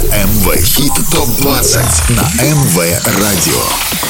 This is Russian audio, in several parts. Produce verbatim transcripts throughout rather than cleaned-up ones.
эм вэ Хит топ двадцать на эм вэ Радио.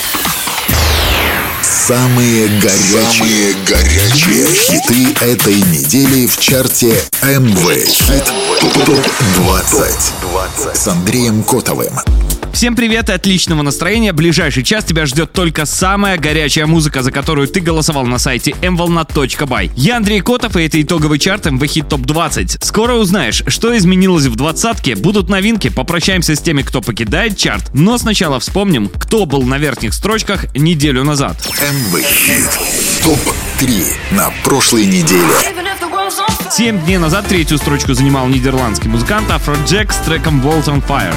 Самые горячие, Самые горячие хиты этой недели в чарте эм вэ Хит топ двадцать с Андреем Котовым. Всем привет и отличного настроения. Ближайший час тебя ждет только самая горячая музыка, за которую ты голосовал на сайте эм волна точка бай. Я Андрей Котов, и это итоговый чарт эм вэ Хит топ двадцать. Скоро узнаешь, что изменилось в двадцатке, будут новинки, попрощаемся с теми, кто покидает чарт, но сначала вспомним, кто был на верхних строчках неделю назад. эм вэ Хит топ три на прошлой неделе. Семь дней назад третью строчку занимал нидерландский музыкант Afrojack с треком Walls on Fire.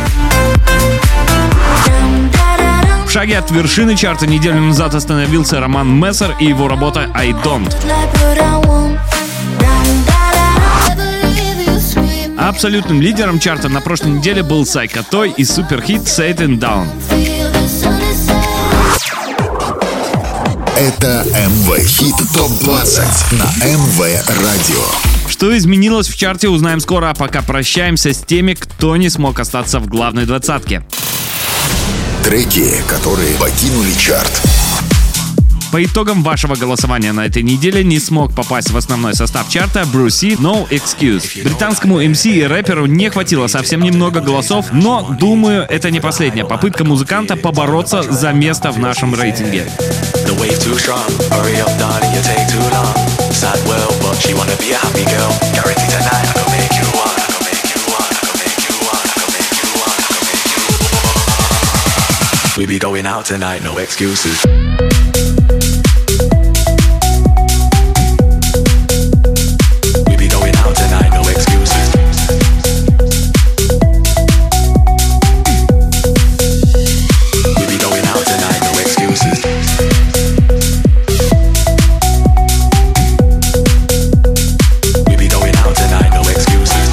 В шаге от вершины чарта неделю назад остановился Роман Мессер и его работа I Don't. Абсолютным лидером чарта на прошлой неделе был Psycho Toy и суперхит Satan Down. Это эм вэ Хит топ двадцать на эм вэ Радио. Что изменилось в чарте, узнаем скоро, а пока прощаемся с теми, кто не смог остаться в главной двадцатке. Треки, которые покинули чарт. По итогам вашего голосования на этой неделе не смог попасть в основной состав чарта Brucey No Excuse. Британскому эм си и рэперу не хватило совсем немного голосов, но, думаю, это не последняя попытка музыканта побороться за место в нашем рейтинге. We be going out tonight, no excuses. We be going out tonight, no excuses. We be going out tonight, no excuses. We be going out tonight, no excuses.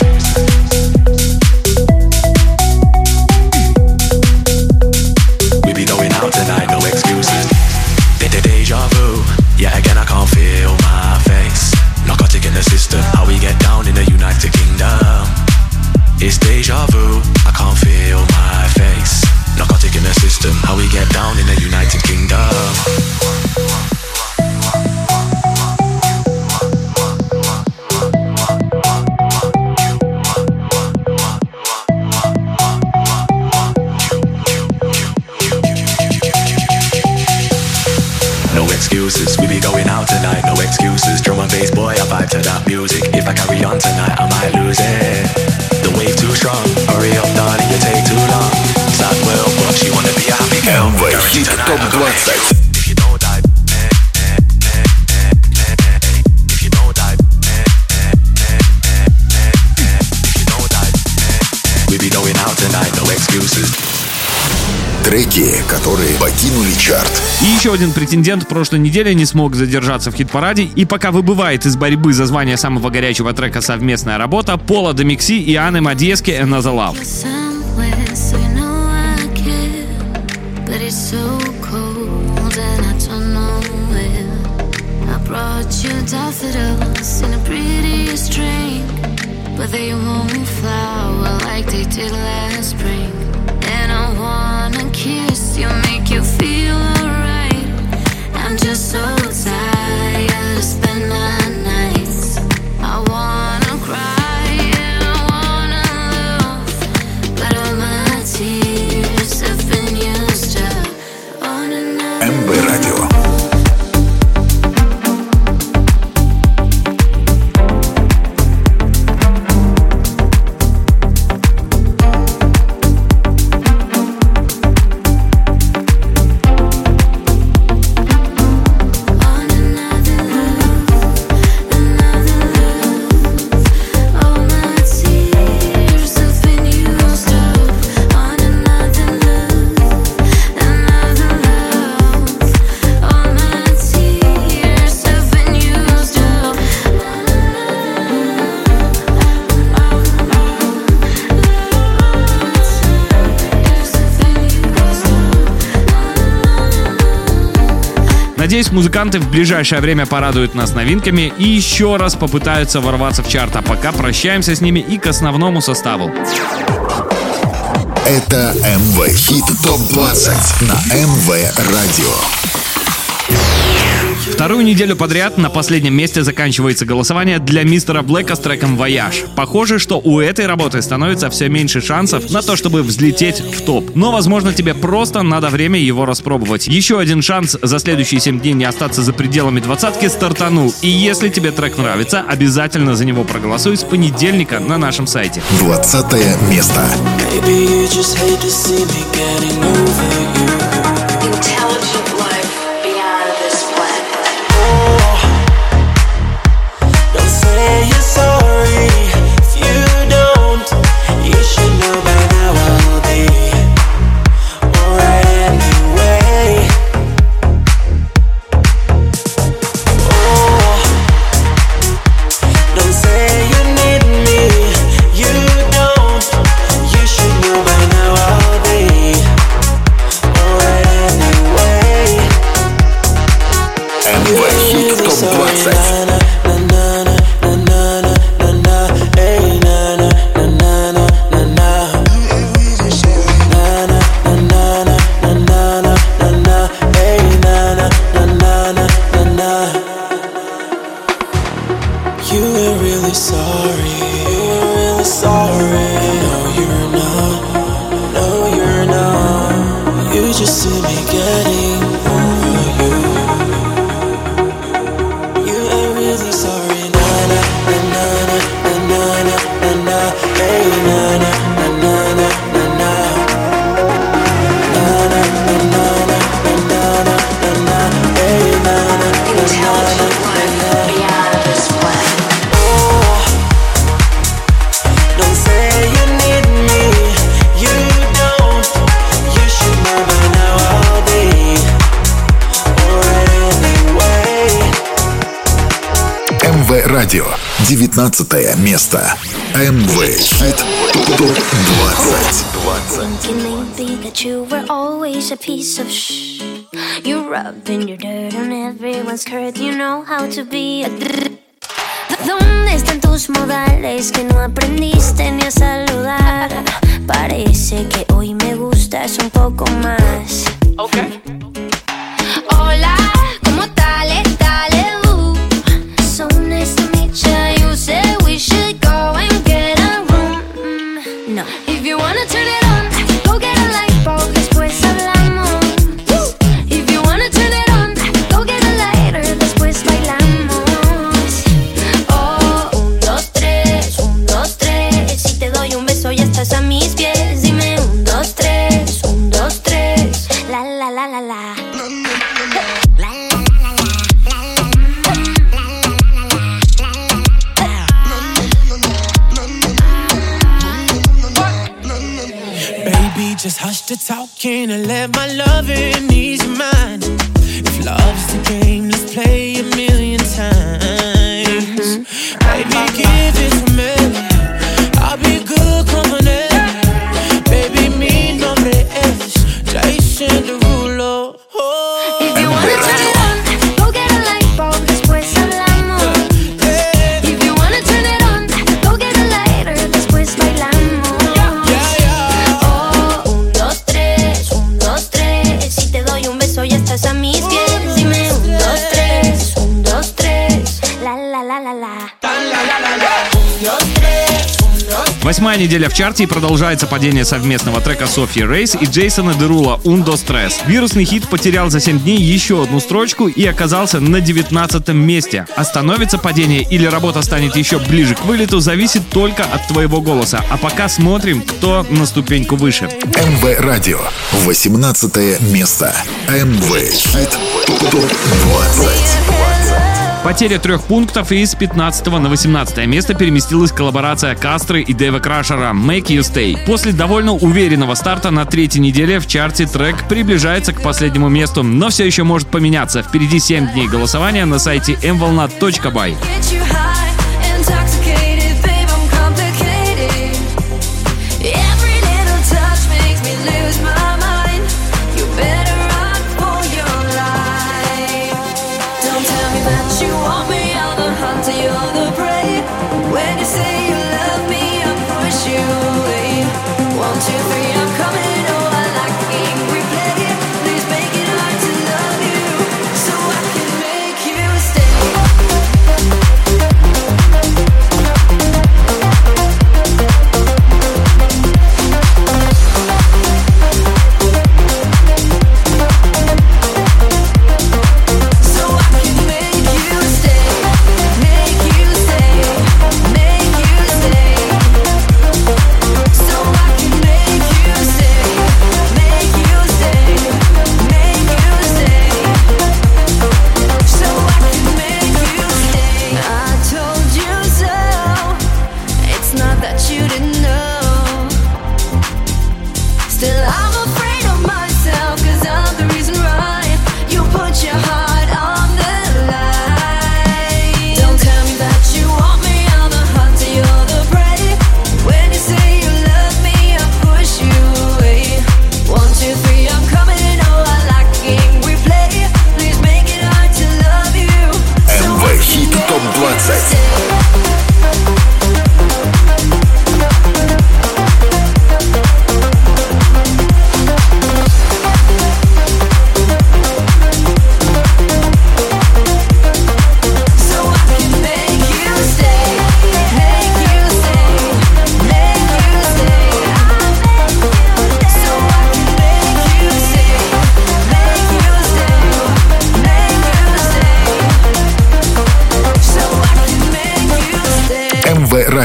Tonight, no excuses. Did the deja vu? Yeah, again I can't feel my face. Narcotic in the system, how we get down in the United Kingdom. It's deja vu, I can't feel my face. Narcotic in the system, how we get down in the United Kingdom. Excuses, we be going out tonight, no excuses. Drum and bass, boy, I vibe to that music. If I carry on tonight, I might lose it. The wave too strong, hurry up, darling, you take too long. Sad world, but she wanna be a happy girl. эм вэ Хит топ двадцать. If you don't die, if you don't die, if you don't die, we be going out tonight, no excuses. Треки, которые покинули чарт. И еще один претендент в прошлой неделе не смог задержаться в хит-параде, и пока выбывает из борьбы за звание самого горячего трека совместная работа Пола де Микси и Анны Мадьески «Another Love». And I wanna kiss you, make you feel alright. I'm just so tired to spend my nights. I wanna cry and I wanna laugh, but all my tears have been used up on another. эм вэ Радио. Надеюсь, музыканты в ближайшее время порадуют нас новинками и еще раз попытаются ворваться в чарт. А пока прощаемся с ними и к основному составу. Это эм вэ Хит топ двадцать на эм вэ Радио. Вторую неделю подряд на последнем месте заканчивается голосование для мистера Блэка с треком «Вояж». Похоже, что у этой работы становится все меньше шансов на то, чтобы взлететь в топ. Но, возможно, тебе просто надо время его распробовать. Еще один шанс за следующие семь дней не остаться за пределами двадцатки стартанул. И если тебе трек нравится, обязательно за него проголосуй с понедельника на нашем сайте. Двадцатое место. Радио. девятнадцатое место. эм вэ Хит топ двадцать. ¿Dónde están tus modales que no aprendiste ni a saludar? Parece que hoy me gustas un poco más. Okay. Hola, ¿cómo tal? Dale, uh. So nice to meet you. You said we should go and get a room. Mm, no. If you wanna turn it on, go get a light bulb. Después hablamos. If you wanna turn it on, go get a lighter. Después bailamos. Oh, un, dos, tres, un, dos, tres. Si te doy un beso ya estás a mis pies. Dime un, dos, tres, un, dos, tres. La, la, la, la, la. Just hush the talking and let my loving ease your mind. If love's the game, let's play a million times. Mm-hmm. Baby, give it to me. I'll be good company. Baby, mi nombre es Jason Derulo. Oh. If you wanna turn it on, go get a light bulb. Después hablamos. If you wanna turn it on, go get a lighter. Después bailamos. Ya estás a mis pies, dime un, dos, tres, un, dos, tres, la, la, la, la, la, un, dos, tres, un, dos, tres. Восьмая неделя в чарте и продолжается падение совместного трека Софьи Рейс и Джейсона Дерула «Un, dos, tres». Вирусный хит потерял за семь дней еще одну строчку и оказался на девятнадцатом месте. Остановится падение или работа станет еще ближе к вылету, зависит только от твоего голоса. А пока смотрим, кто на ступеньку выше. эм вэ Радио. восемнадцатое место. эм вэ Хит топ двадцать. Потеря трех пунктов, и с пятнадцатого на восемнадцатое место переместилась коллаборация Кастры и Дэйва Крашера «Make You Stay». После довольно уверенного старта на третьей неделе в чарте трек приближается к последнему месту, но все еще может поменяться. Впереди семь дней голосования на сайте эм волна точка бай. When you say you love me, I push you away. One, two, three, I'm coming.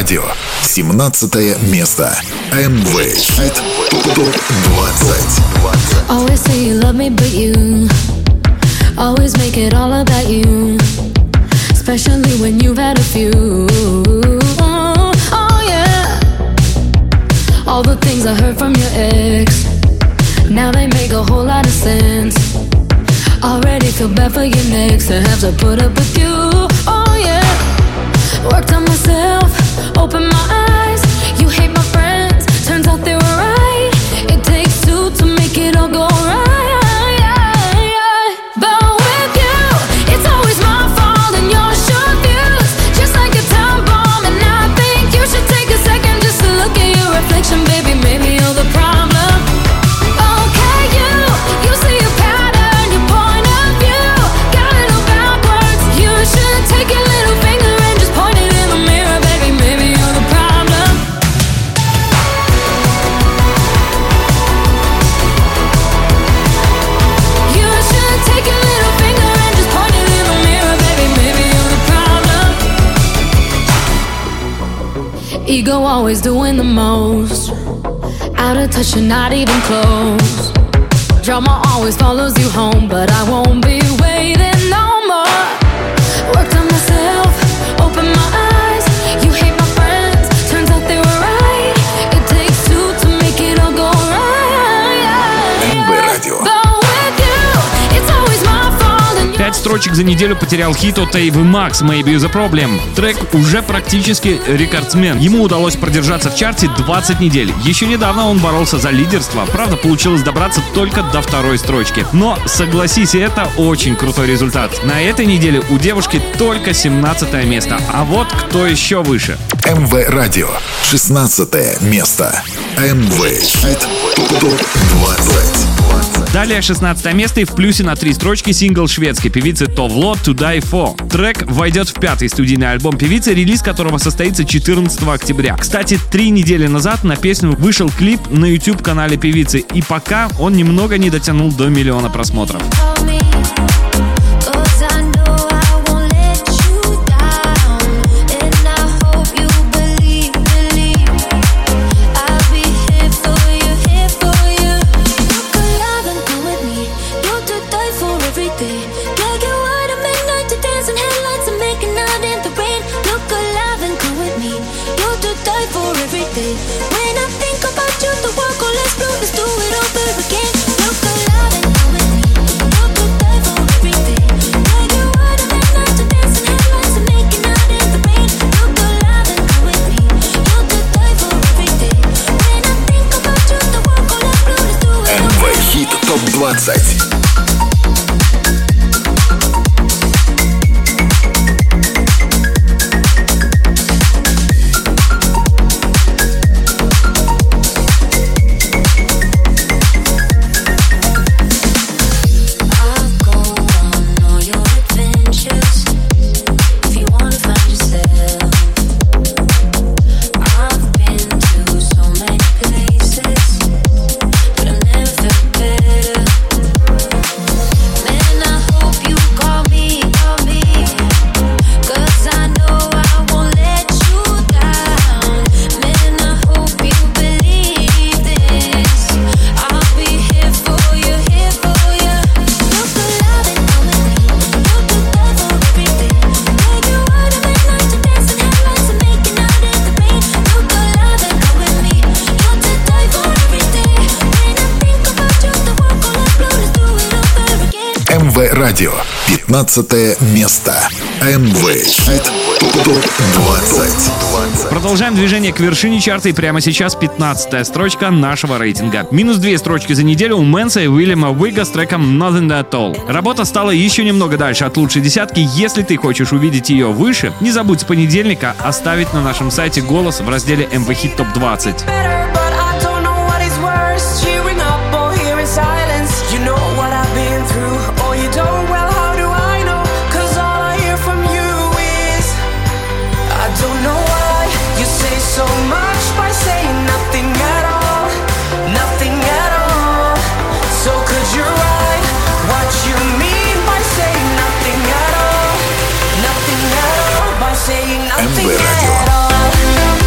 Радио. семнадцатое место. эм вэ Хит топ двадцать. Always say you love me, but you always make it all about you. Especially when you've had a few. Oh, oh yeah. All the things I heard from your ex, now they make a whole lot of sense. Already feel bad for your next to have to put up with you. Oh yeah. Worked on myself, opened my eyes. You hate my friends, turns out they were right. It takes two to make it all go right. But with you, it's always my fault and your short views, just like a time bomb. And I think you should take a second just to look at your reflection, baby. Maybe you're the problem. Okay, you, you see a pattern, your point of view got it all backwards. You should take your little finger and just point it in the mirror, baby. Maybe you're the problem. You should take your little finger and just point it in the mirror, baby. Maybe you're the problem. Ego always doing the most, out of touch and not even close. Drama always follows you home, but I won't be waiting no more. Worked on myself, opened my eyes. You hate my friends, turns out they were right. It takes two to make it all go right. эм вэ Радио. But with you, it's always my fault and Пять строчек за неделю потерял хит от Эйвы Макс «Maybe the Problem». Трек уже практически рекордсмен. Ему удалось продержаться в чарте двадцать недель. Еще недавно он боролся за лидерство. Правда, получилось добраться только до второй строчки. Но, согласись, это очень крутой результат. На этой неделе у девушки только семнадцатое место. А вот кто еще выше. эм вэ Радио. шестнадцатое место. эм вэ Хит топ двадцать. Далее шестнадцатое место и в плюсе на три строчки сингл шведской певицы Товло «To Die For». Трек войдет в пятый студийный альбом певицы, релиз которого состоится четырнадцатого октября. Кстати, три недели назад на песню вышел клип на YouTube-канале певицы, и пока он немного не дотянул до миллиона просмотров. топ двадцать. эм вэ Радио. пятнадцатое место. эм вэ Хит топ двадцать. Продолжаем движение к вершине чарта, и прямо сейчас пятнадцатая строчка нашего рейтинга. Минус две строчки за неделю у Мэнса и Уильяма Уига с треком Nothing At All. Работа стала еще немного дальше от лучшей десятки. Если ты хочешь увидеть ее выше, не забудь с понедельника оставить на нашем сайте голос в разделе эм вэ Хит топ двадцать. эм вэ Радио.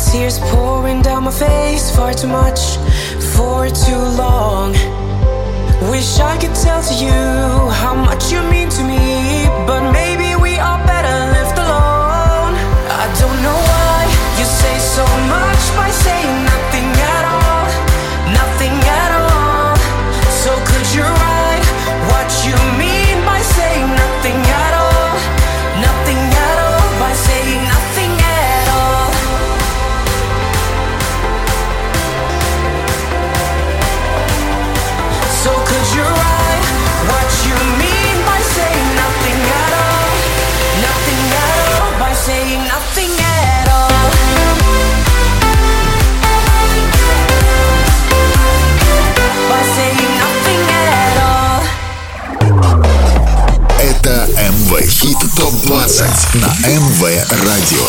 Tears pouring down my face, far too much, for too long. Wish I could tell to you how much you mean to me, but maybe we are better left alone. I don't know why you say so much by saying nothing at all, nothing at all. So could you write what you mean by saying nothing at all, nothing at all, by saying nothing at all. So could you write what you mean by saying nothing at all, nothing at all, by saying nothing at all. By saying nothing at all. Это эм вэ Хит топ двадцать на эм вэ Радио.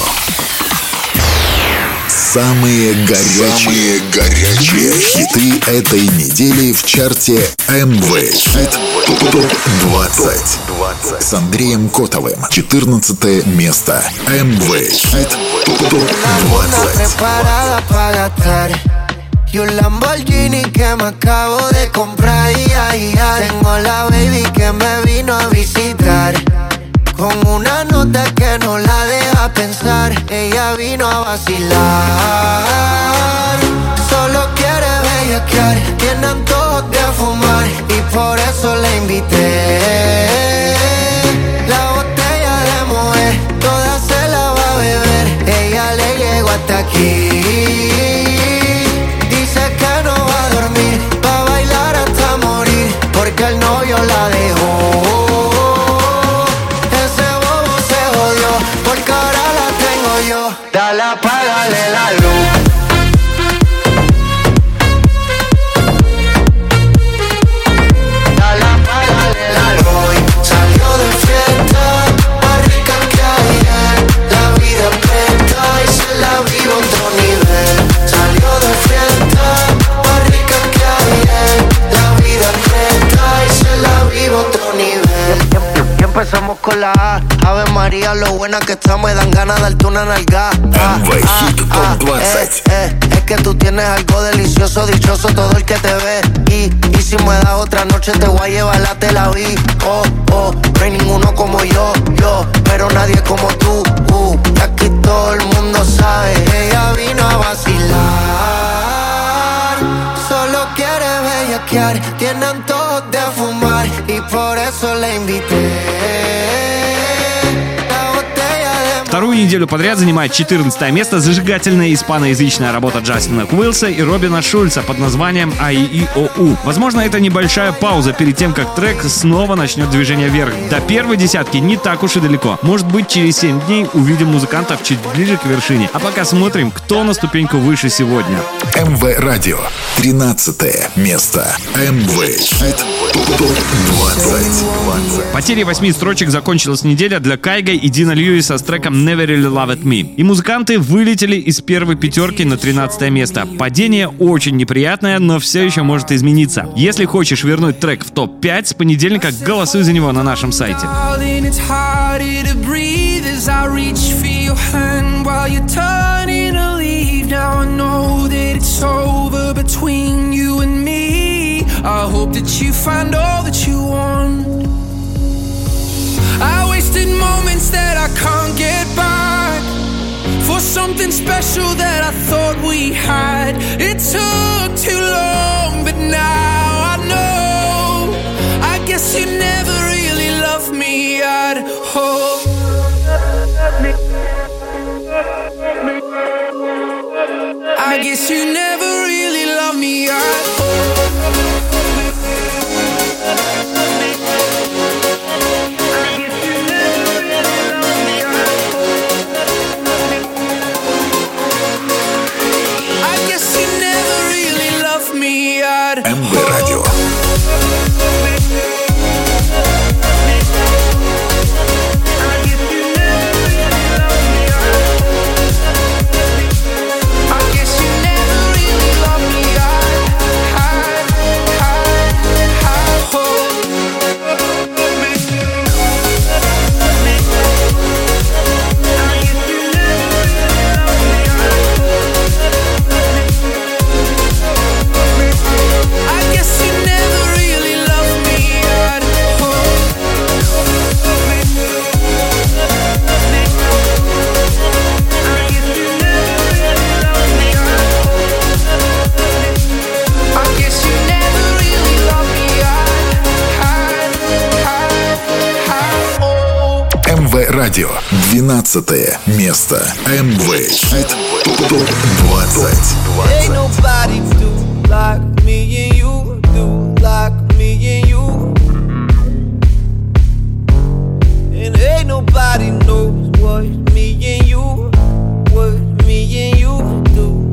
Самые горячие, Самые горячие хиты этой недели в чарте эм вэ Хит топ двадцать с Андреем Котовым. четырнадцатое место. эм вэ Хит топ двадцать. Y un Lamborghini que me acabo de comprar. Ya, ya. Tengo la baby que me vino a visitar, con una nota que no la deja pensar. Ella vino a vacilar, solo quiere bellaquear, tiene antojos de fumar y por eso la invité. La botella de mujer, toda se la va a beber. Ella le llegó hasta aquí. Que el novio la dejó. Ese bobo se jodió, porque ahora la tengo yo. Dale, apágale la luz. Dale, apágale la luz. Hoy salió de fiesta, más rica que ayer. La vida presta y se la vive otro nivel. Salió de fiesta, más rica que ayer. La vida presta y se la vive otro nivel. Y empezamos con la A. Ave María, lo buena que está, me dan ganas de darte una nalga. эм вэ Хит топ двадцать. Eh, eh, es que tú tienes algo delicioso, dichoso todo el que te ve. Y, y si me das otra noche te voy a llevar a Tel Aviv. Oh, oh, no hay ninguno como yo, yo, pero nadie como tú. Uh, y aquí todo el mundo sabe, ella vino a vacilar. Solo quiere bellaquear, tiene antojos de fumar y por eso la invité. Вторую неделю подряд занимает четырнадцатое место зажигательная испаноязычная работа Джастина Куилса и Робина Шульца под названием «А И И О У». Возможно, это небольшая пауза перед тем, как трек снова начнет движение вверх. До первой десятки не так уж и далеко. Может быть, через семь дней увидим музыкантов чуть ближе к вершине. А пока смотрим, кто на ступеньку выше сегодня. эм вэ Радио. тринадцатое место. эм вэ Хит топ двадцать. Потерей восьми строчек закончилась неделя для Кайга и Дина Льюиса с треком «Never Really Loved Me». И музыканты вылетели из первой пятерки на тринадцатое место. Падение очень неприятное, но все еще может измениться. Если хочешь вернуть трек в топ пять, с понедельника голосуй за него на нашем сайте. I hope that you find all that you want. I wasted moments that I can't get back for something special that I thought we had. It took too long, but now I know. I guess you never really loved me at all. I guess you never really loved me at all. эм вэ Радио. I guess you never really Радио. двенадцатое место. эм вэ Хит топ двадцать. Ain't nobody do like me and you, do like me and you. And ain't nobody knows what me and you, what me and you do.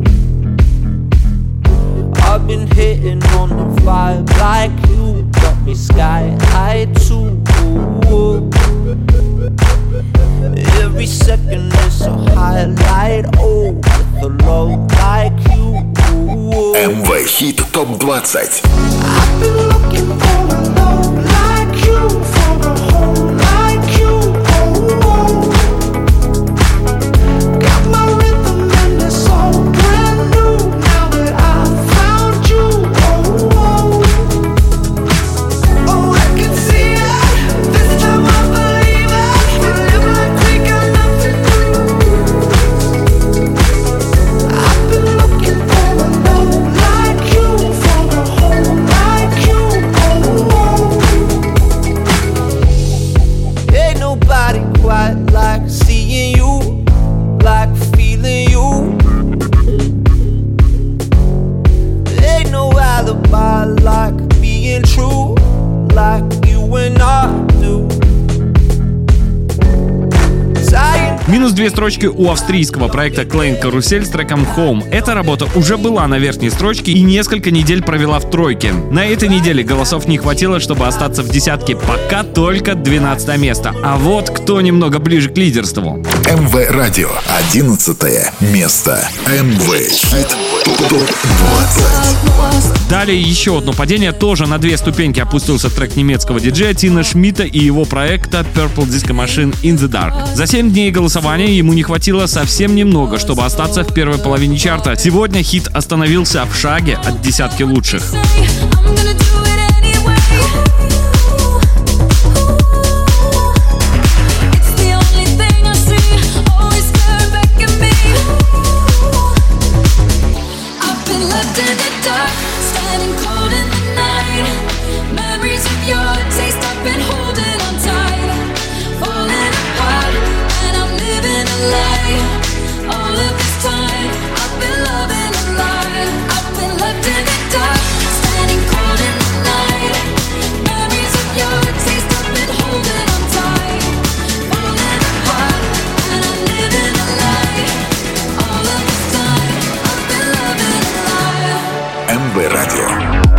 I've been hitting on the vibe like you, got me sky high too. Every second is a highlight, oh, with a love like you. эм вэ Хит топ двадцать. I've been looking for a love like you, for a home like you. Oh, got my rhythm and it's all brand new now that I found you. Oh, oh, I can see it. This time I believe it. We live like we got nothing to lose. I've been looking for a love like you, for a home like you. Oh, ain't nobody quite like seeing you, like feeling you. Ain't no alibi like being true, like you and I do. Минус две строчки у австрийского проекта Klein Karusell с треком Home. Эта работа уже была на верхней строчке и несколько недель провела в тройке. На этой неделе голосов не хватило, чтобы остаться в десятке, пока только двенадцатое место. А вот кто немного ближе к лидерству. эм вэ Радио. одиннадцатое место. эм вэ Хит топ двадцать. Далее еще одно падение, тоже на две ступеньки опустился трек немецкого диджея Тина Шмидта и его проекта Purple Disco Machine In The Dark. За семь дней голосования ему не хватило совсем немного, чтобы остаться в первой половине чарта. Сегодня хит остановился в шаге от десятки лучших. эм вэ Радио.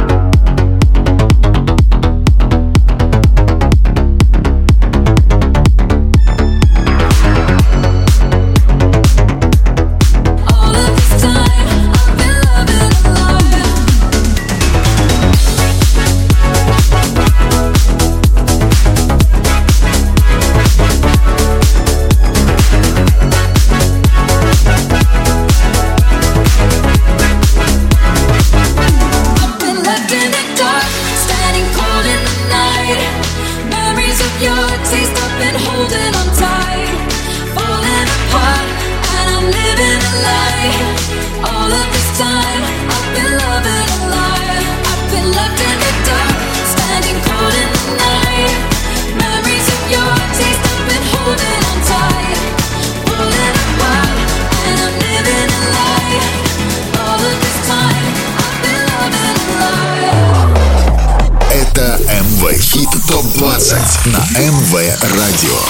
Хит топ двадцать на эм вэ Радио.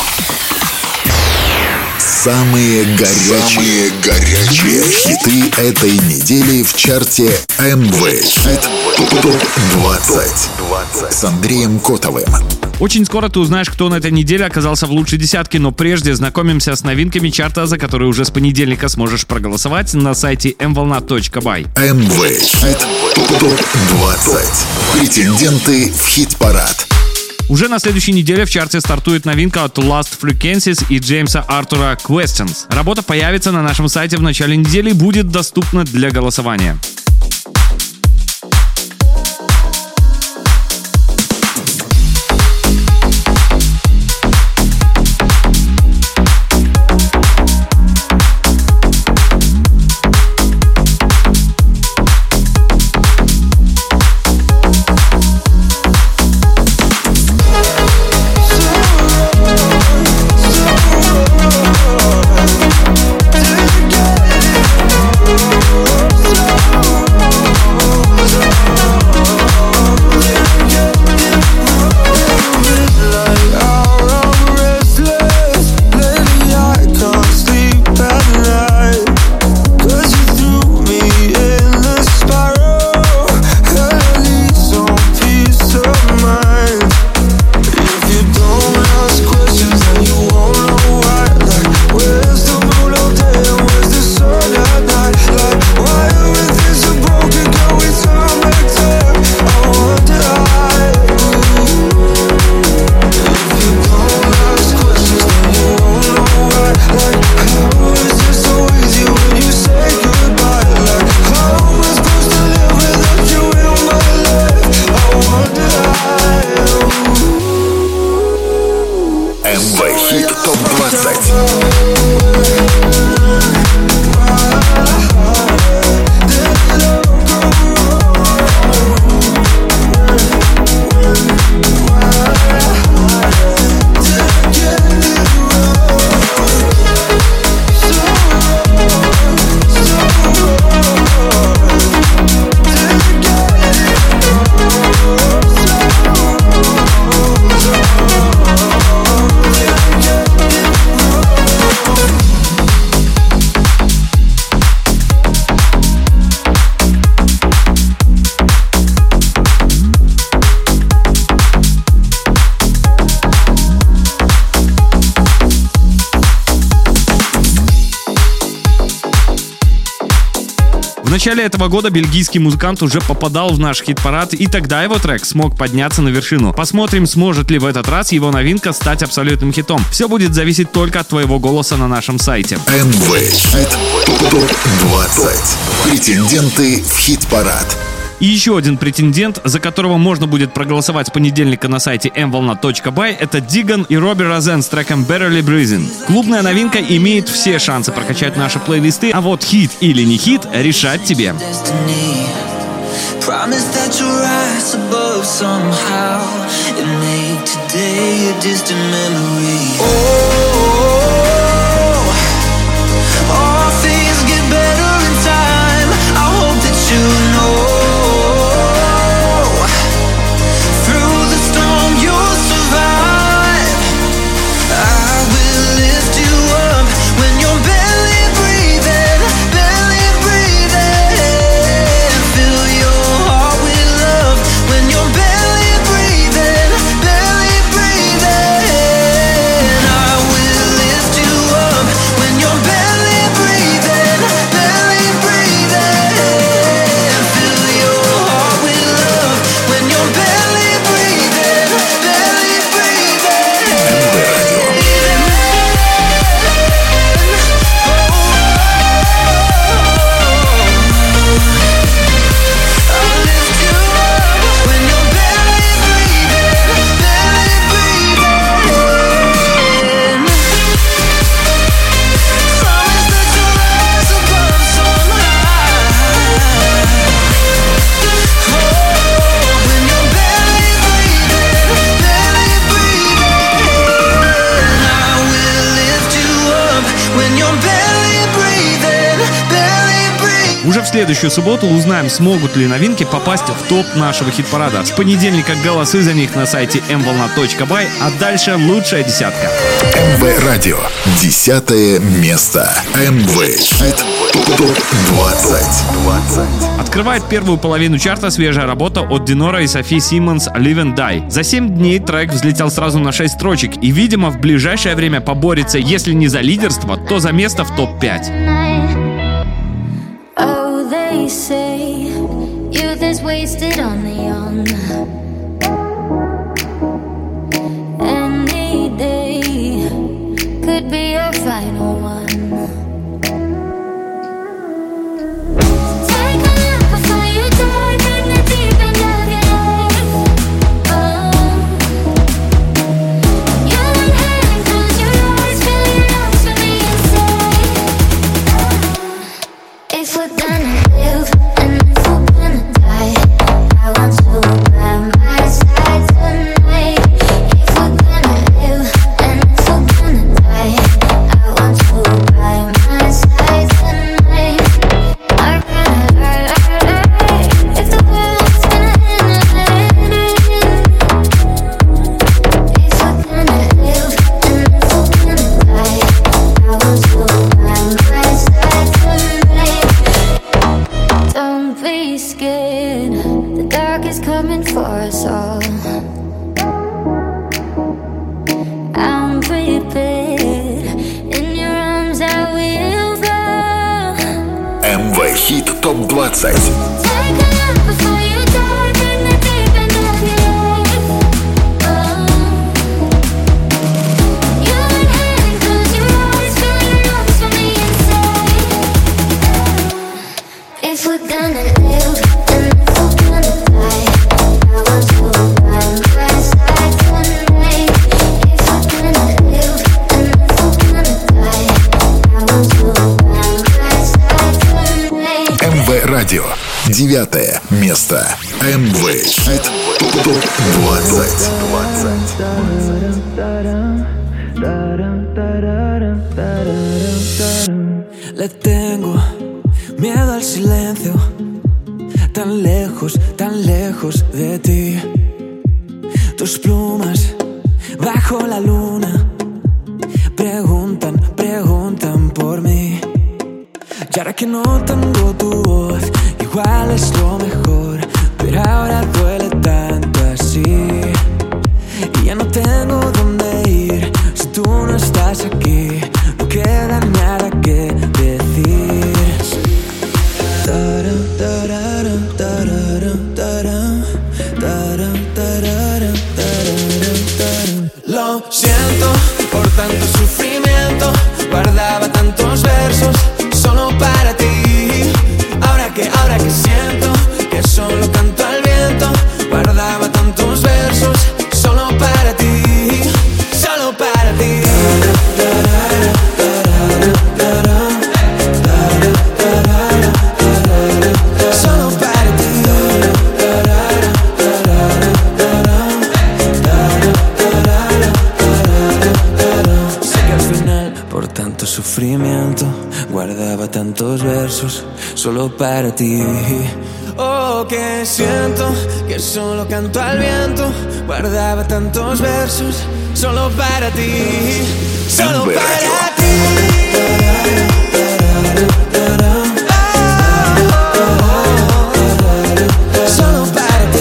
Самые горячие, Самые горячие хиты этой недели в чарте эм вэ Хит топ двадцать с Андреем Котовым. Очень скоро ты узнаешь, кто на этой неделе оказался в лучшей десятке, но прежде знакомимся с новинками чарта, за которые уже с понедельника сможешь проголосовать на сайте эм волна точка бай. эм вэ Хит топ двадцать. Претенденты в хит-парад. Уже на следующей неделе в чарте стартует новинка от Last Frequencies и Джеймса Артура Questions. Работа появится на нашем сайте в начале недели и будет доступна для голосования. So В начале этого года бельгийский музыкант уже попадал в наш хит-парад, и тогда его трек смог подняться на вершину. Посмотрим, сможет ли в этот раз его новинка стать абсолютным хитом. Все будет зависеть только от твоего голоса на нашем сайте. эм вэ Хит топ двадцать. Претенденты в хит-парад. И еще один претендент, за которого можно будет проголосовать с понедельника на сайте эм волна точка бай, это Диган и Робби Розен с треком Barely Breathing. Клубная новинка имеет все шансы прокачать наши плейлисты, а вот хит или не хит решать тебе. Promise that you'll rise above somehow and make today a distant memory. Oh, all things get better in time. I hope that you know. Through the storm you'll survive. I will lift you up when you're barely breathing, barely breathing. Fill your heart with love when you're barely breathing, barely breathing. I will lift you up when you're barely breathing, barely breathing. Fill your heart with love when you're barely breathing, barely breathing. I'll lift you up when you're barely breathing, barely breathing. Promise that you'll rise above somehow. Oh, when you're barely breathing, barely breathing. I will lift you up when you're barely breathing, barely breathing. Уже в следующую субботу узнаем, смогут ли новинки попасть в топ нашего хит-парада. С понедельника голосы за них на сайте эм волна точка бай, а дальше лучшая десятка. эм вэ Радио. Десятое место. эм вэ Хит топ двадцать. Открывает первую половину чарта свежая работа от Динора и Софи Симмонс «Live and Die». За семь дней трек взлетел сразу на шесть строчек и, видимо, в ближайшее время поборется, если не за лидерство, то за место в топ пять. Oh, they say youth is wasted on the young. Any day could be your final one. Take a look before you dive in the deep end of your life. Oh, you inhale, close your eyes, fill your lungs with the inside. If we're gonna live and if we're gonna die, I want you by my side tonight. If we're gonna live and if we're gonna die, I want you by my side tonight. Alright, if the world's gonna end, if we're gonna live and if we're gonna die, I want you by my side tonight. Don't be scared, the dark is coming for us all. I'm prepared, in your arms I will fall. эм вэ Хит топ двадцать. Take a look before you dive in the deep end of your life. Oh, you inhale, close your eyes, fill your lungs from the inside. If we're gonna live and if we're gonna die, I want you by my side tonight. If we're gonna live and if we're gonna die, I want you by my side tonight. эм вэ Радио. Девятое место. эм вэ Хит топ двадцать. Le tengo miedo al silencio, tan lejos, tan lejos de ti. Tus plumas bajo la luna preguntan, preguntan por mí. Y ahora que no tengo tu voz, igual es lo mejor, pero ahora duele tanto así. Y ya no tengo dónde ir si tú no estás aquí. No queda nada que decir. tantos versos solo para ti. Oh, que siento que solo canto al viento. Guardaba tantos versos solo para ti, solo эн вэ para Radio. ti. Solo para ti.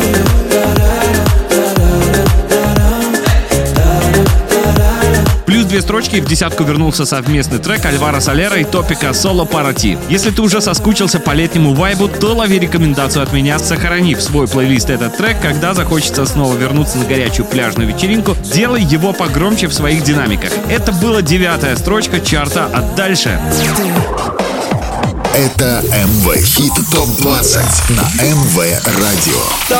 Плюс две строчки, в десятку вернулся совместный трек Альваро Солера и Топика «Соло Пара Ти». Если ты уже соскучился по летнему вайбу, то лови рекомендацию от меня, сохрани в свой плейлист этот трек. Когда захочется снова вернуться на горячую пляжную вечеринку, делай его погромче в своих динамиках. Это была девятая строчка чарта, а дальше... Это эм вэ Хит топ двадцать на эм вэ Radio.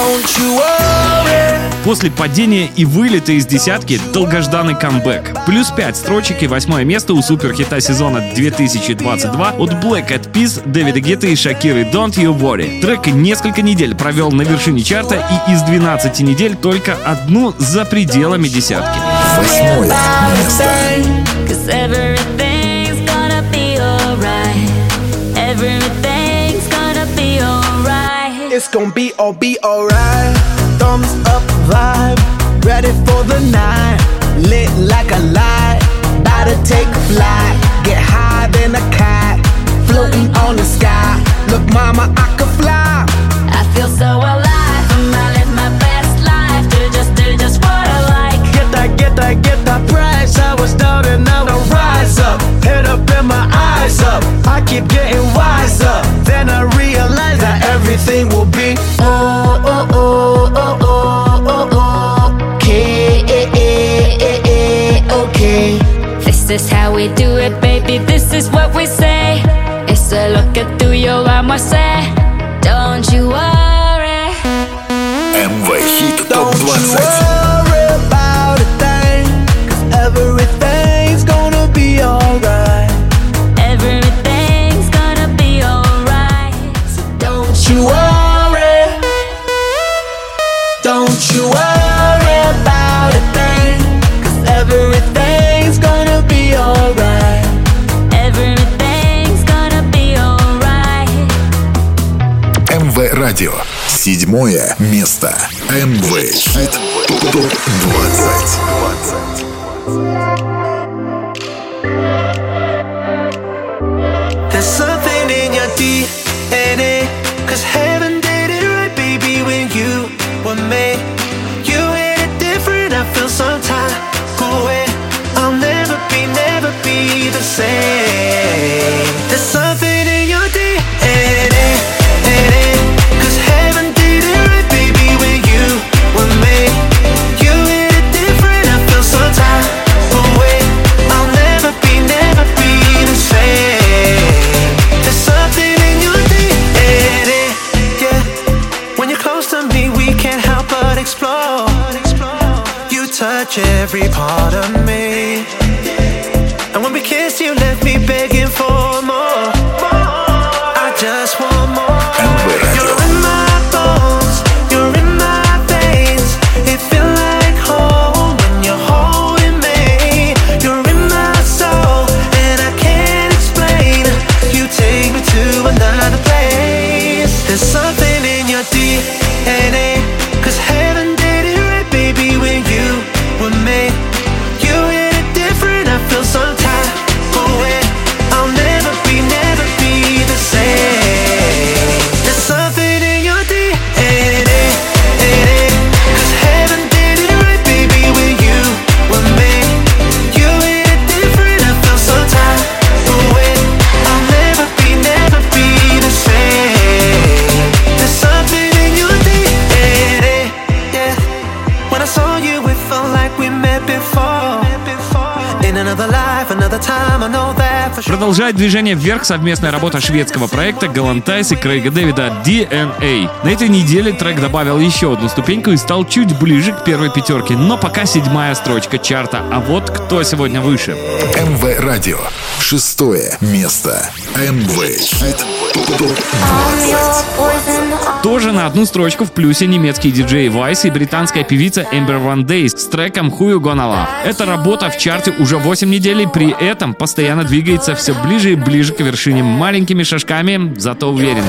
После падения и вылета из десятки долгожданный камбэк. Плюс пять строчек и восьмое место у суперхита сезона две тысячи двадцать два от Black Eyed Peas, Дэвида Гетты и Шакиры «Don't You Worry». Трек несколько недель провел на вершине чарта и из двенадцати недель только одну за пределами десятки. Восьмое место. Everything's gonna be alright. It's gonna be all be alright. Thumbs up vibe, ready for the night. Lit like a light, about to take flight. Get higher than a cat, floating on the sky. Look, mama, I could fly. I feel so alive. I live my best life. Do just, do just what I like. Get that, get that, get that price. I was down and now I rise up. Head up and my eyes up. I keep getting wiser. Then I realize that everything will be oh, oh, oh, oh, oh, oh, okay, okay. This is how we do it, baby. This is what we say. It's a look at tuyo, vamos a say. Don't you worry. эм вэ Хит топ Don't you двадцать. worry about a thing, 'cause everything's gonna be alright. Everything's gonna be alright. Don't you worry. Don't you worry about a thing, 'cause everything's gonna be alright. Everything's gonna be alright. эм вэ Radio. Седьмое место. эм вэ Хит топ двадцать. There's something in your D N A, 'cause heaven did it right, baby, when you were made. You hit it different, I feel some type of way. I'll never be, never be the same. There's something in your D N A, 'cause heaven did it right, baby, when you were made. You hit it different, I feel some type of way. I'll never be, never be the same. There's something in your D N A, yeah. When you're close to me, we can't help but explore. You touch every part of me, and when we kiss, you left me begging for more. I just want more. эм вэ Radio. You're in my bones, you're in my veins. It feels like home when you're holding me. You're in my soul, and I can't explain. You take me to another place. There's something in your D N A, 'cause heaven did it right, baby, when you were made. You hit it different, I feel some type of way. I'll never be, never be the same. There's something in your D N A, 'cause heaven did it right, baby, when you were made. You hit it different, I feel some type of way. I'll never be, never be the same. There's something in your D N A, yeah. When I saw you, it felt like we met before. In another life, another time, I know that for sure. Продолжает движение вверх совместная работа шведского проекта Галантайс и Крейга Дэвида ди эн эй. На этой неделе трек добавил еще одну ступеньку и стал чуть ближе к первой пятерке, но пока седьмая строчка чарта. А вот кто сегодня выше. эм вэ Radio. Шестое место. эм вэ Хит топ двадцать. То Позже на одну строчку в плюсе немецкий диджей Vice и британская певица Amber Van Day с треком Who You Gonna Love. Эта работа в чарте уже восемь недель и при этом постоянно двигается все ближе и ближе к вершине маленькими шажками, зато уверенно.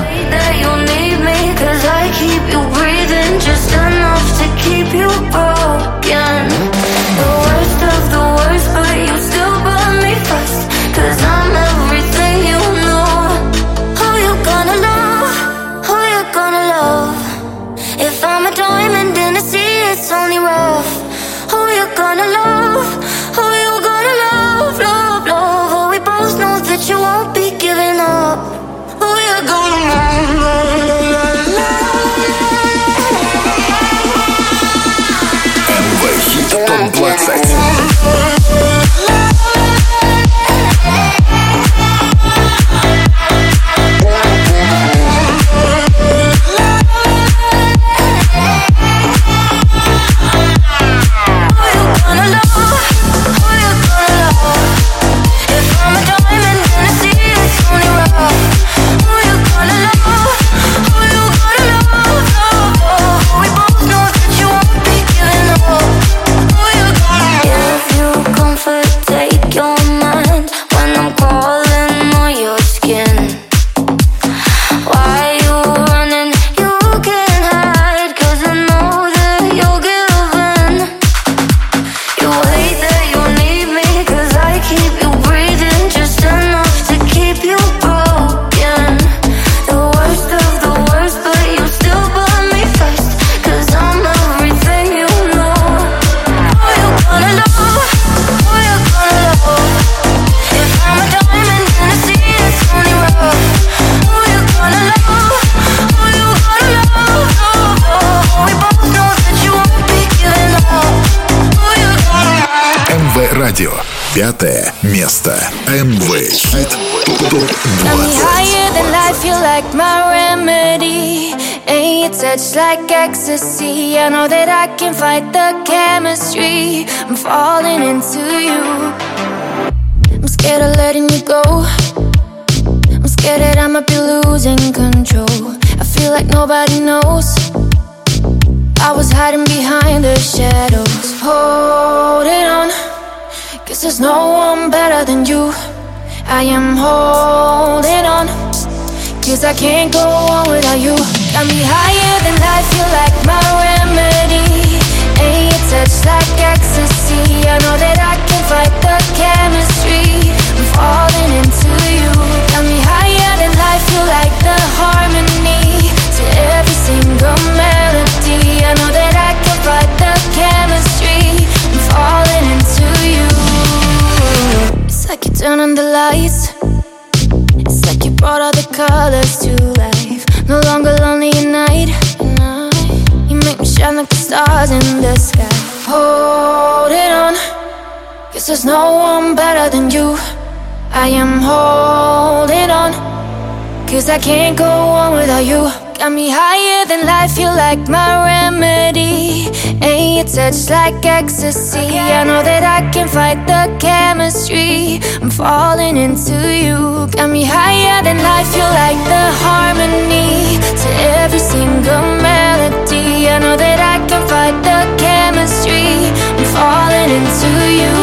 It's only rough. Who you gonna love? Who you gonna love? Love, love. Oh, we both know that you won't be giving up. Who you gonna love? эм вэ Хит топ двадцать. Радио. Пятое место. эм вэ Хит топ двадцать. Like ecstasy, I know that I can fight the chemistry. I'm falling into you. I'm scared of letting you go. I'm scared that I might be losing control. I feel like nobody knows. I was hiding behind the shadows, holding on. Guess there's no one better than you. I am holding on. Cause I can't go on without you. Got me higher than life, feel like my remedy. Ain't your touch like ecstasy. I know that I can fight the chemistry. I'm falling into you. Got me higher than life, feel like the harmony to every single melody. I know that I can fight the chemistry. I'm falling into you. It's like you turn on the lights. It's like you brought all the colors to life. No longer lonely at night. You make me shine like the stars in the sky. Holding on. Guess there's no one better than you. I am holding on. Cause I can't go on without you. Got me higher than life, feel like my remedy. Ain't your touch like ecstasy. I know that I can fight the chemistry. I'm falling into you. Got me higher than life, feel like the harmony to every single melody. I know that I can fight the chemistry. I'm falling into you.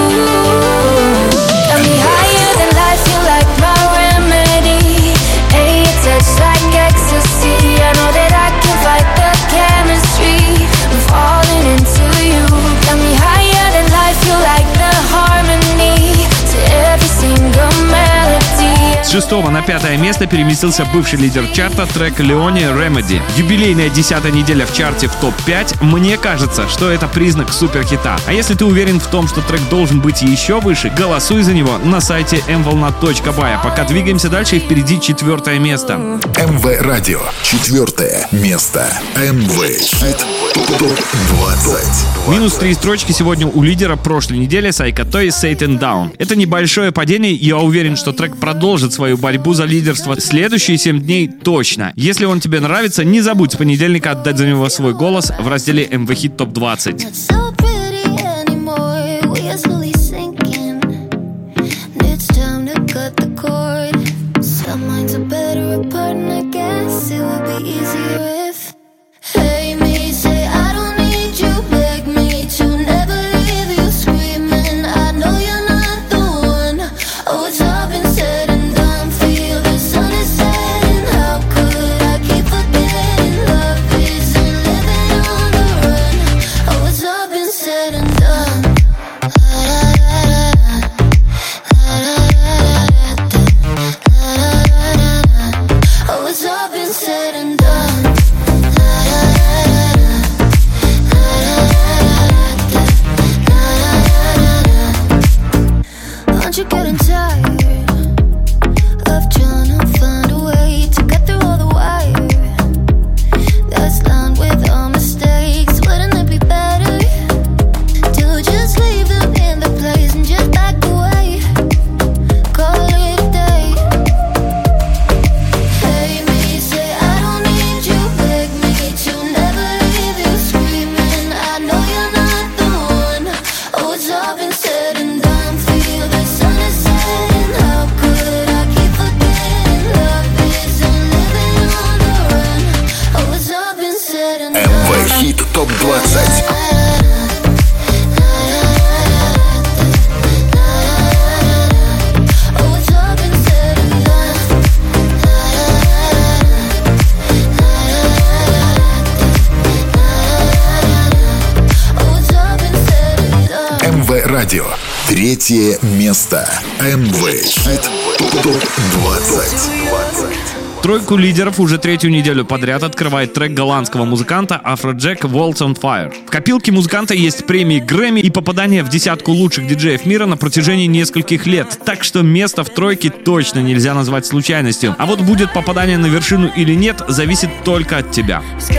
Got me higher than life, feel like my remedy. Ain't your touch like ecstasy. I know that I can fight the chemistry. I'm falling into you. Got me higher than life, feel like the harmony to every single melody. С шестого на пятое место переместился бывший лидер чарта трек Леони Remedy. Юбилейная десятая неделя в чарте в топ пять. Мне кажется, что это признак суперхита. А если ты уверен в том, что трек должен быть еще выше, голосуй за него на сайте эм волна точка бай. А пока двигаемся дальше, и впереди четвертое место. эм вэ Радио. Четвертое место. эм вэ Хит топ двадцать. Минус три строчки сегодня у лидера прошлой недели Сайка Той Satan Down. Это небольшое падение, и я уверен, что трек продолжит свою борьбу за лидерство следующие семь дней точно. Если он тебе нравится, не забудь с понедельника отдать за него свой голос в разделе эм вэ Хит топ двадцать. Some minds are better apart, and I guess it would be easier if топ двадцать. эм вэ Радио. Третье место. эм вэ Хит топ двадцать. Тройку лидеров уже третью неделю подряд открывает трек голландского музыканта Afrojack «Walls on Fire». В копилке музыканта есть премии Грэмми и попадание в десятку лучших диджеев мира на протяжении нескольких лет, так что место в тройке точно нельзя назвать случайностью. А вот будет попадание на вершину или нет, зависит только от тебя.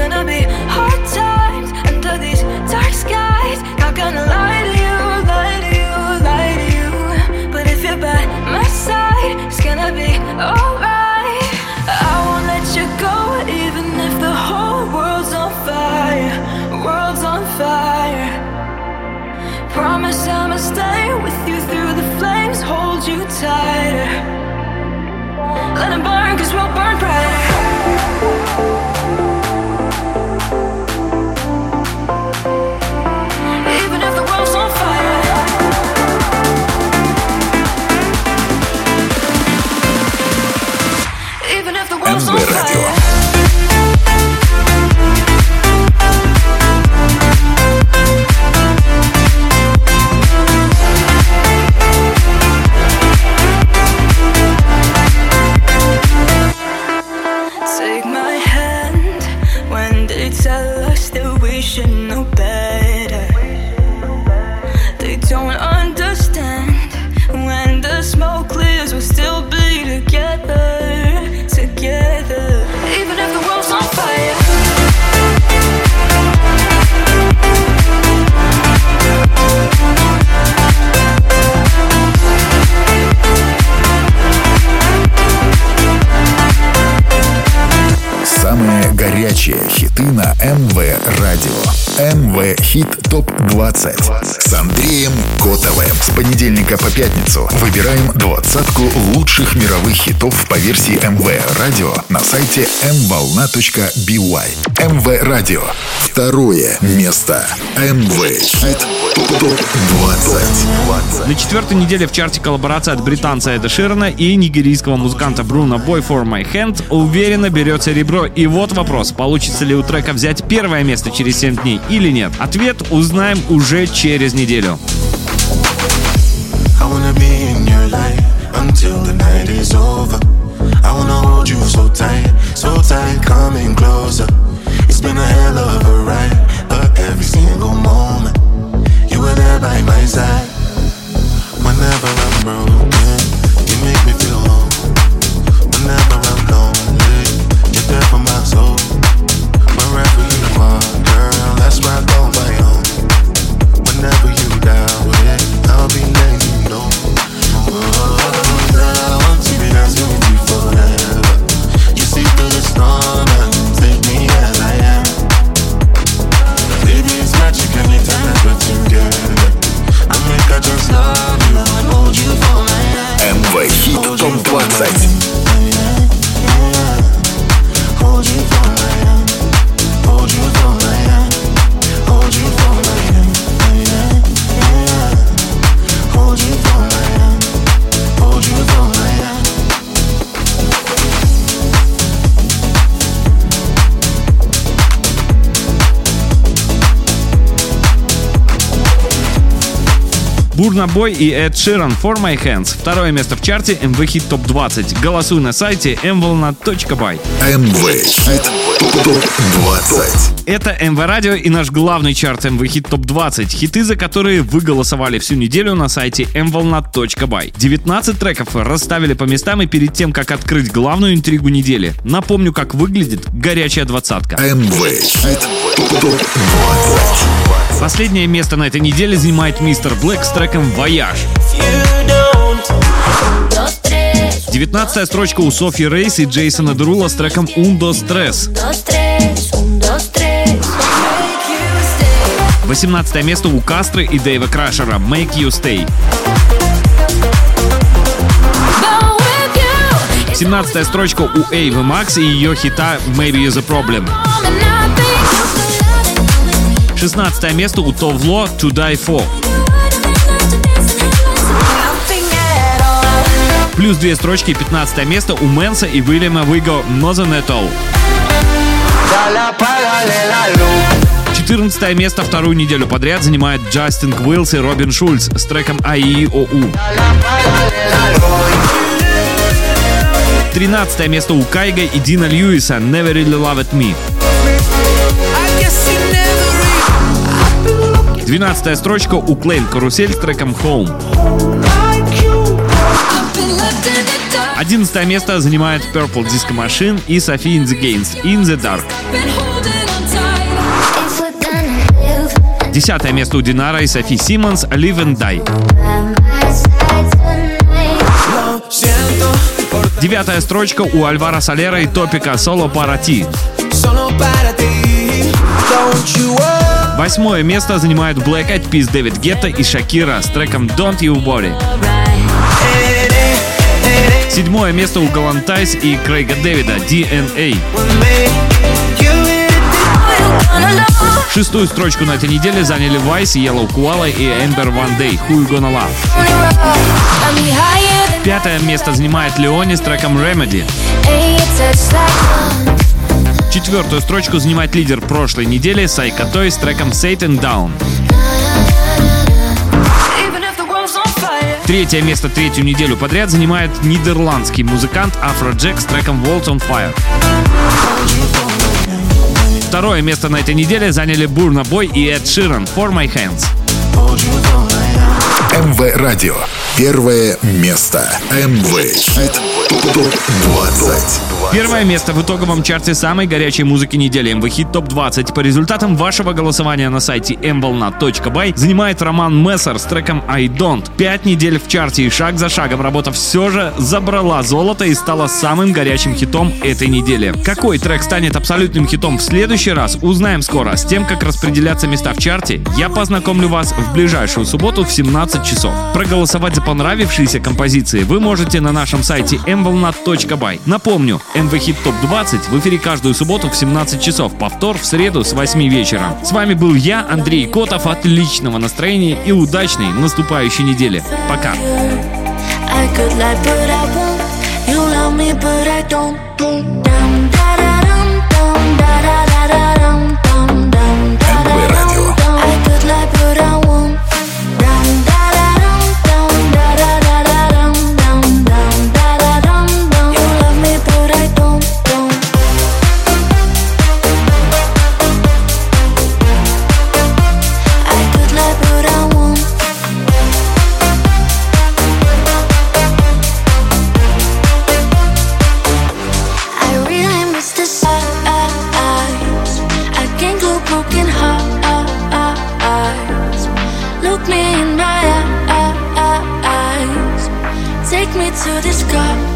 Promise I'ma stay with you through the flames, hold you tighter. Let it burn, cause we'll burn brighter. Even if the world's on fire. Even if the world's on fire. Горячие хиты на эм вэ Радио. эм вэ Хит топ двадцать с Андреем Котовым. С понедельника по пятницу выбираем двадцатку лучших мировых хитов по версии эм вэ Радио на сайте эм волна точка би уай. эм вэ Радио. Второе место. эм вэ Хит топ двадцать. На четвертой неделе в чарте коллаборация от британца Эда Ширана и нигерийского музыканта Бруно Бой «For My Hand» уверенно берет серебро. И вот вопрос, получится ли у трека взять первое место через семь дней или нет? Ответ узнаем уже через неделю. Whenever I'm broken, you make me feel home. Whenever I'm lonely, you're there for my soul. Wherever you are, girl, that's where I go my own. Whenever you down with it, I'll be letting you know. Oh, girl, I want to be dancing with you forever. You see through the storm and take me as I am. Baby, it's magic anytime that we're together. I think I just love you and hold you for my hand. эм вэ Хит топ двадцать. Hold you for my hand. Hold you for my hand. Hold you for my hand. Hold you for my hand. Hold you for my hand. Бурна Бой и Эд Ширан «For My Hands». Второе место в чарте эм вэ Хит топ двадцать. Голосуй на сайте эм волна точка бай. эм вэ Хит топ двадцать. Это эм вэ Радио и наш главный чарт эм вэ Хит топ двадцать. Хиты, за которые вы голосовали всю неделю на сайте эм волна точка бай. девятнадцать треков расставили по местам, и перед тем, как открыть главную интригу недели, напомню, как выглядит горячая двадцатка. эм вэ Хит топ двадцать. Последнее место на этой неделе занимает мистер Блэк с треком «Вояж». девятнадцатая строчка у Софьи Рейс и Джейсона Дерула с треком «Un, dos, tres». восемнадцатое место у Кастры и Дэйва Крашера «Make You Stay». семнадцатая строчка у Эйвы Макс и ее хита «Maybe You're the Problem». шестнадцатое место у Товло «To Die For». Плюс две строчки, пятнадцатое место у Мэнса и Уильяма Виго «Nothing at All». четырнадцатое место вторую неделю подряд занимает Джастин Квиллс и Робин Шульц с треком «эй и о у». тринадцатое место у Кайга и Дина Льюиса «Never Really Loved Me». двенадцатая строчка у Клейн «Карусель» с треком «Home». одиннадцатое место занимает Purple Disco Machine и Sophie in the Games «In the Dark». десятое место у Динара и Софи Симмонс «Live and Die». девятая строчка у Альвара Солера и Топика «Solo para ti». Восьмое место занимает Black Eyed Peas, Дэвид Гетта и Шакира с треком «Don't You Worry». Седьмое место у Галантайс и Крейга Дэвида «ди эн эй». Шестую строчку на этой неделе заняли Vice, Yellow Koala и Ember One Day «Who You Gonna Love». Пятое место занимает Леони с треком «Remedy». Четвертую строчку занимает лидер прошлой недели Psycho Toy с треком «Satan Down». Третье место третью неделю подряд занимает нидерландский музыкант Afrojack с треком «World on Fire». Второе место на этой неделе заняли Burna Boy и Эд Ширан «For My Hands». МВ Радио. Первое место. МВ Хит Топ двадцать. Первое место в итоговом чарте самой горячей музыки недели эм ви Хит Топ двадцать по результатам вашего голосования на сайте эм волна точка бай занимает Роман Мессер с треком «I Don't». Пять недель в чарте и шаг за шагом работа все же забрала золото и стала самым горячим хитом этой недели. Какой трек станет абсолютным хитом в следующий раз, узнаем скоро. С тем, как распределяться места в чарте, я познакомлю вас в ближайшую субботу в семнадцать часов. Проголосовать за понравившиеся композиции вы можете на нашем сайте эм волна точка бай. Напомню, эм ви Хит Топ двадцать в эфире каждую субботу в семнадцать часов, повтор в среду с восьми вечера. С вами был я, Андрей Котов. Отличного настроения и удачной наступающей недели. Пока. МВ Радио. To the sky.